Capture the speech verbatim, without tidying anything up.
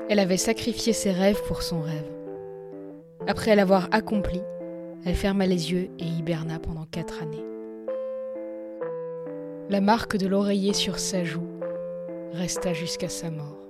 Elle avait sacrifié ses rêves pour son rêve. Après l'avoir accompli, elle ferma les yeux et hiberna pendant quatre années. La marque de l'oreiller sur sa joue resta jusqu'à sa mort.